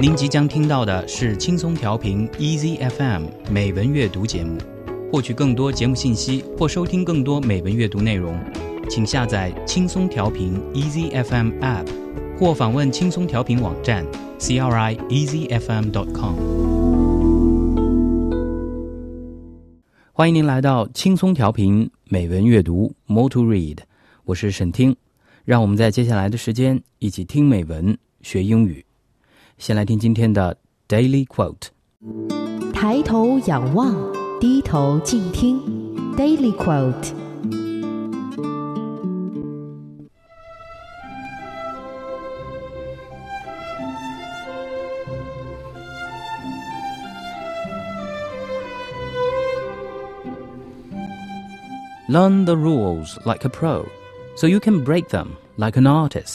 您即将听到的是轻松调频 Easy FM 美文阅读节目。获取更多节目信息或收听更多美文阅读内容，请下载轻松调频 Easy FM App 或访问轻松调频网站 crieasyfm.com。 欢迎您来到轻松调频美文阅读 More to Read， 我是沈听，让我们在接下来的时间一起听美文学英语。先来听今天的 Daily Quote。 抬头仰望，低头静听 Daily Quote。 Learn the rules like a pro, so you can break them like an artist.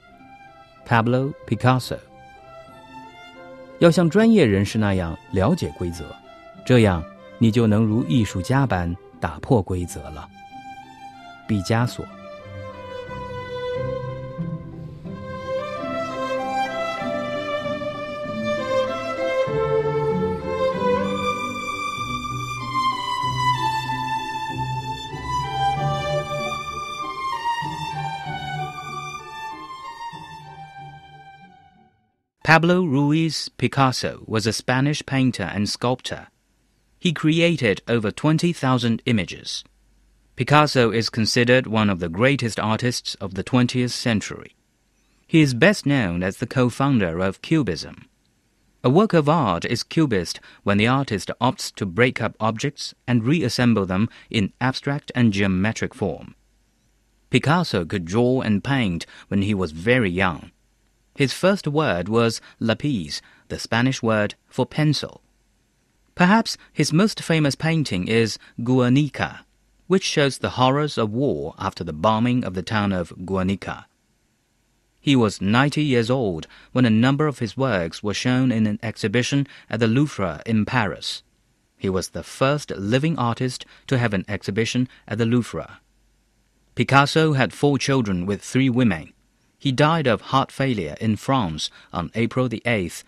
Pablo Picasso。 要像专业人士那样了解规则，这样你就能如艺术家般打破规则了。毕加索。Pablo Ruiz Picasso was a Spanish painter and sculptor. He created over 20,000 images. Picasso is considered one of the greatest artists of the 20th century. He is best known as the co-founder of Cubism. A work of art is cubist when the artist opts to break up objects and reassemble them in abstract and geometric form. Picasso could draw and paint when he was very young. His first word was lapis, the Spanish word for pencil. Perhaps his most famous painting is Guernica, which shows the horrors of war after the bombing of the town of Guernica. He was 90 years old when a number of his works were shown in an exhibition at the Louvre in Paris. He was the first living artist to have an exhibition at the Louvre. Picasso had 4 children with 3 women. He died of heart failure in France on April 8,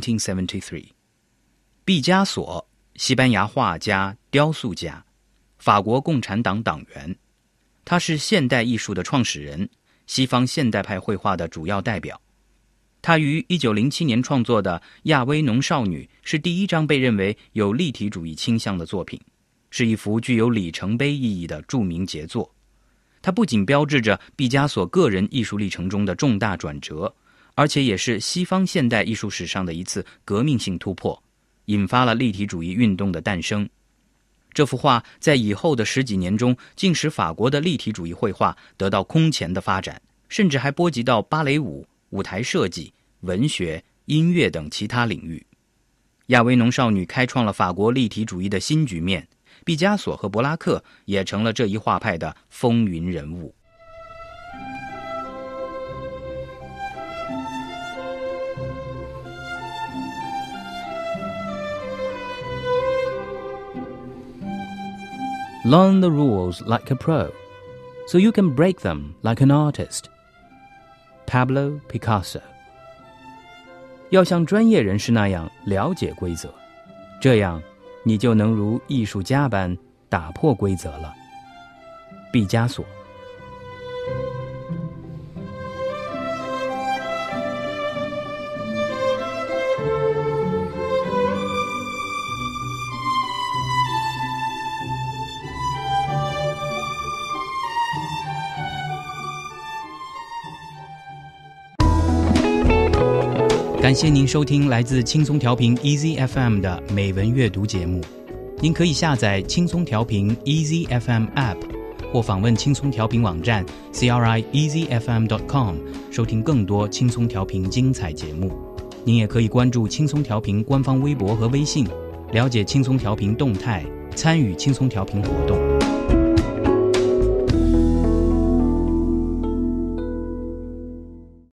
1973. 毕加索，西班牙画家、雕塑家，法国共产党党员。他是现代艺术的创始人，西方现代派绘画的主要代表。他于1907年创作的《亚威农少女》是第一张被认为有立体主义倾向的作品，是一幅具有里程碑意义的著名杰作。它不仅标志着毕加索个人艺术历程中的重大转折，而且也是西方现代艺术史上的一次革命性突破，引发了立体主义运动的诞生。这幅画在以后的10几年中，竟使法国的立体主义绘画得到空前的发展，甚至还波及到芭蕾舞、舞台设计、文学、音乐等其他领域。亚威农少女开创了法国立体主义的新局面，毕加索和柏拉克也成了这一画派的风云人物。Learn the rules like a pro, so you can break them like an artist. Pablo Picasso。 要像专业人士那样了解规则，这样你就能如艺术家般打破规则了。毕加索。感谢您收听来自轻松调频 Easy FM 的美文阅读节目。您可以下载轻松调频 Easy FM App 或访问轻松调频网站 crieasyfm.com 收听更多轻松调频精彩节目。您也可以关注轻松调频官方微博和微信，了解轻松调频动态，参与轻松调频活动。